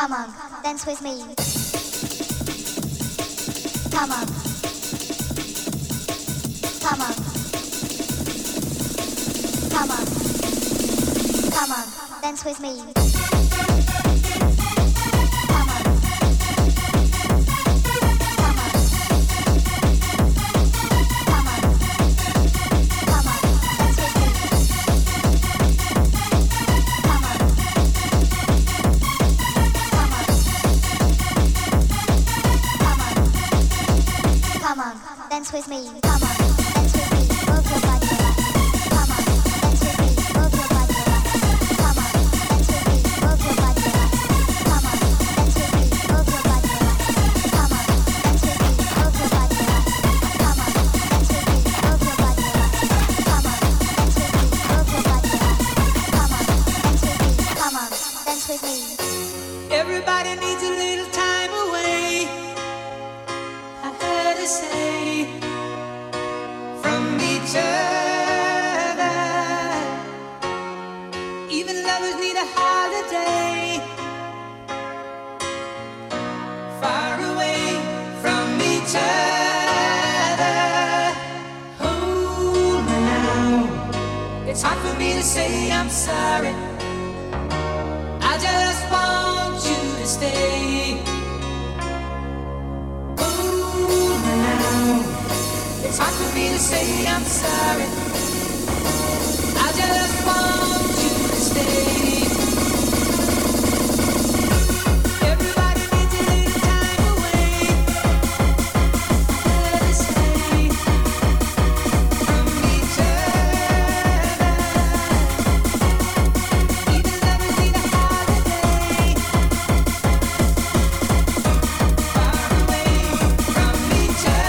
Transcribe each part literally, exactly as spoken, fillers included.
come on, dance with me. Come on, come on, come on, come on, dance with me. Dance with me, come on, dance with me, move your body, relax. Come on, dance with me, move your body, relax. Come on, dance with me, move your body, relax. Come on, dance with me, move your body, relax. Come on, dance with me, move your body, relax. Come on, dance with me, move your body, relax. Come on, dance with me, move your body, relax. Come on, dance with me, come on, dance with me. Everybody needs a little time away. I heard her say. Each other. Even lovers need a holiday. Far away from each other. Hold me now. It's hard for me to say I'm sorry. I just want you to stay. Hold me now. It's hard for me to say I'm sorry. I just want you to stay. Everybody needs a little time away. Let us stay from each other. Even lovers need a holiday. Far away from each other.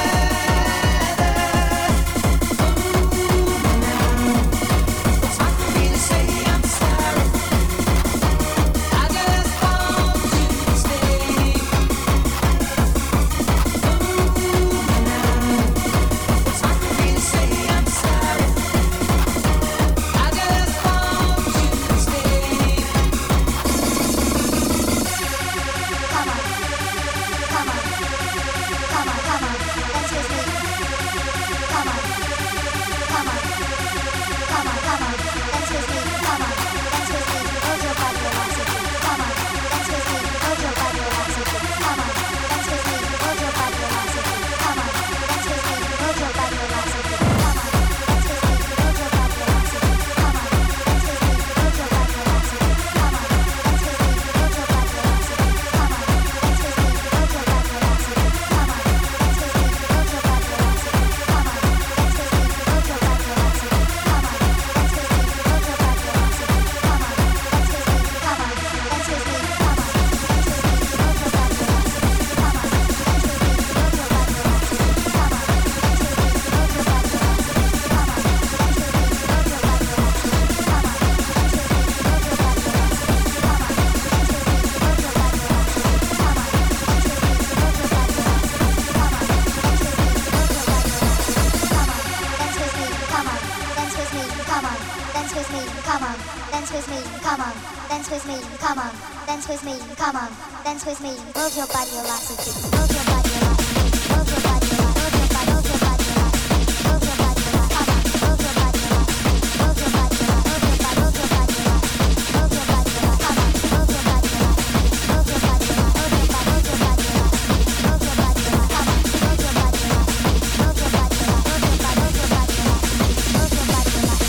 Dance with me, move your body, velocity, move your body, velocity, move your body, velocity, move your body, move your body, velocity, move your body, velocity, move your body, velocity, move your body, velocity, move your body, move your body, velocity, move your body, velocity, move your body, velocity, move your body, velocity, move your body, move your body, velocity, move your body, velocity, move your body, velocity, move your body, velocity, move your body, move your body, velocity, move your body, velocity.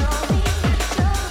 Show me, show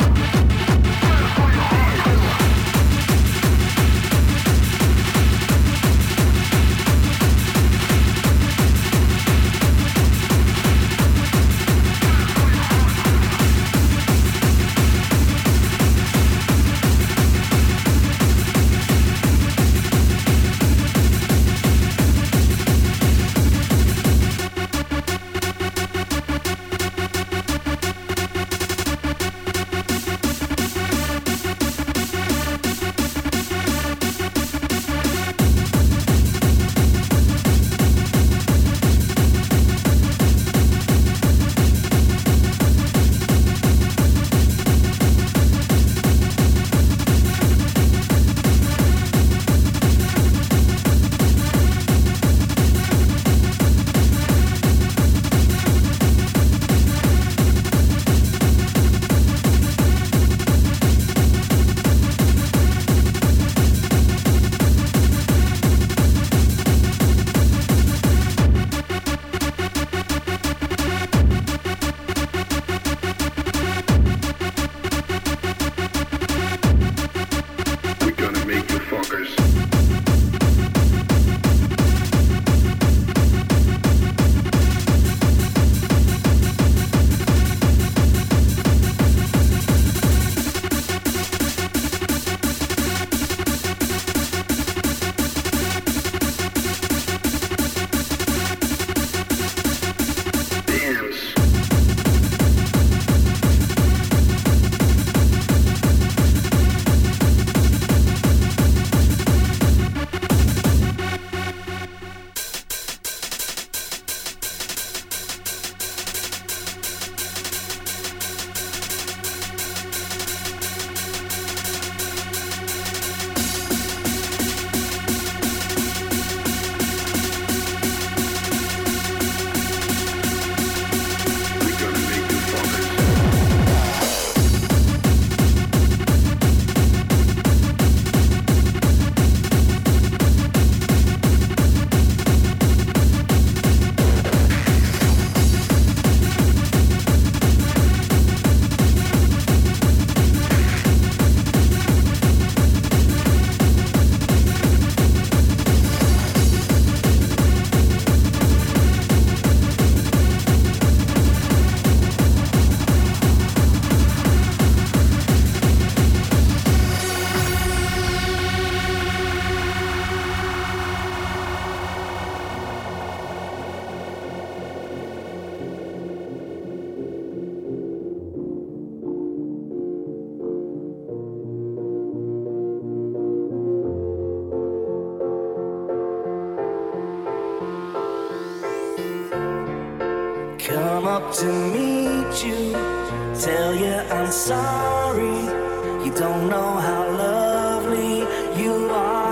Come up to meet you, tell you I'm sorry. You don't know how lovely you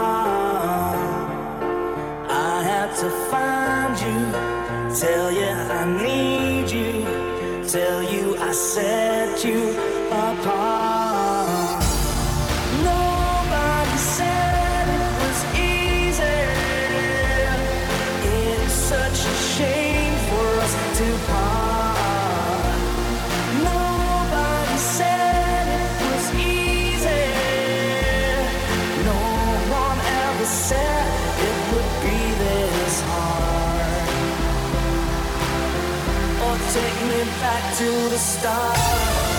are. I had to find you, tell you I need you, tell you I set you apart. Nobody said it was easy. It's me back to the start.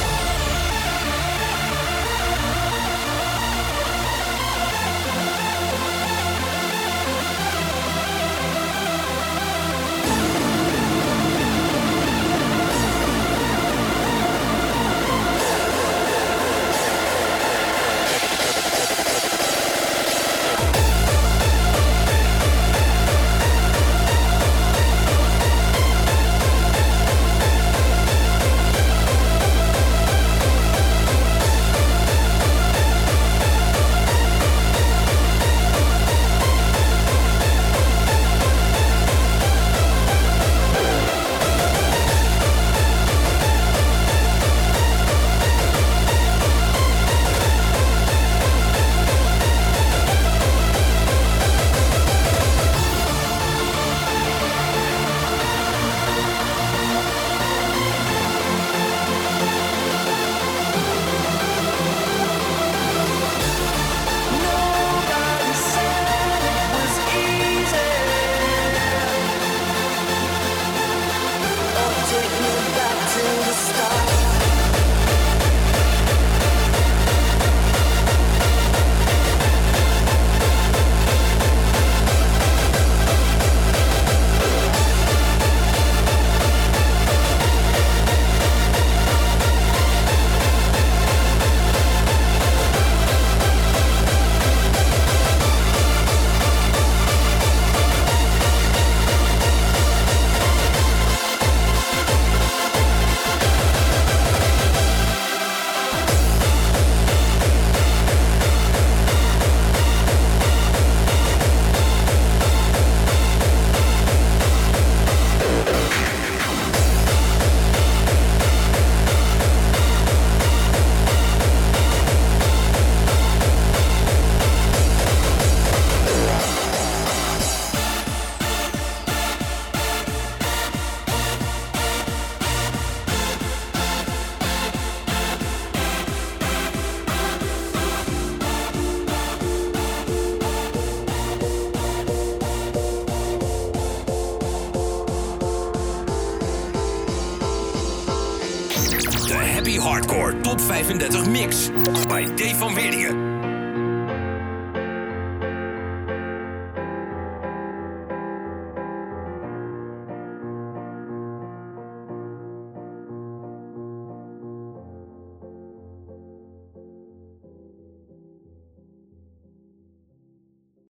Happy Hardcore Top vijfendertig Mix bij Dave van Weerdingen.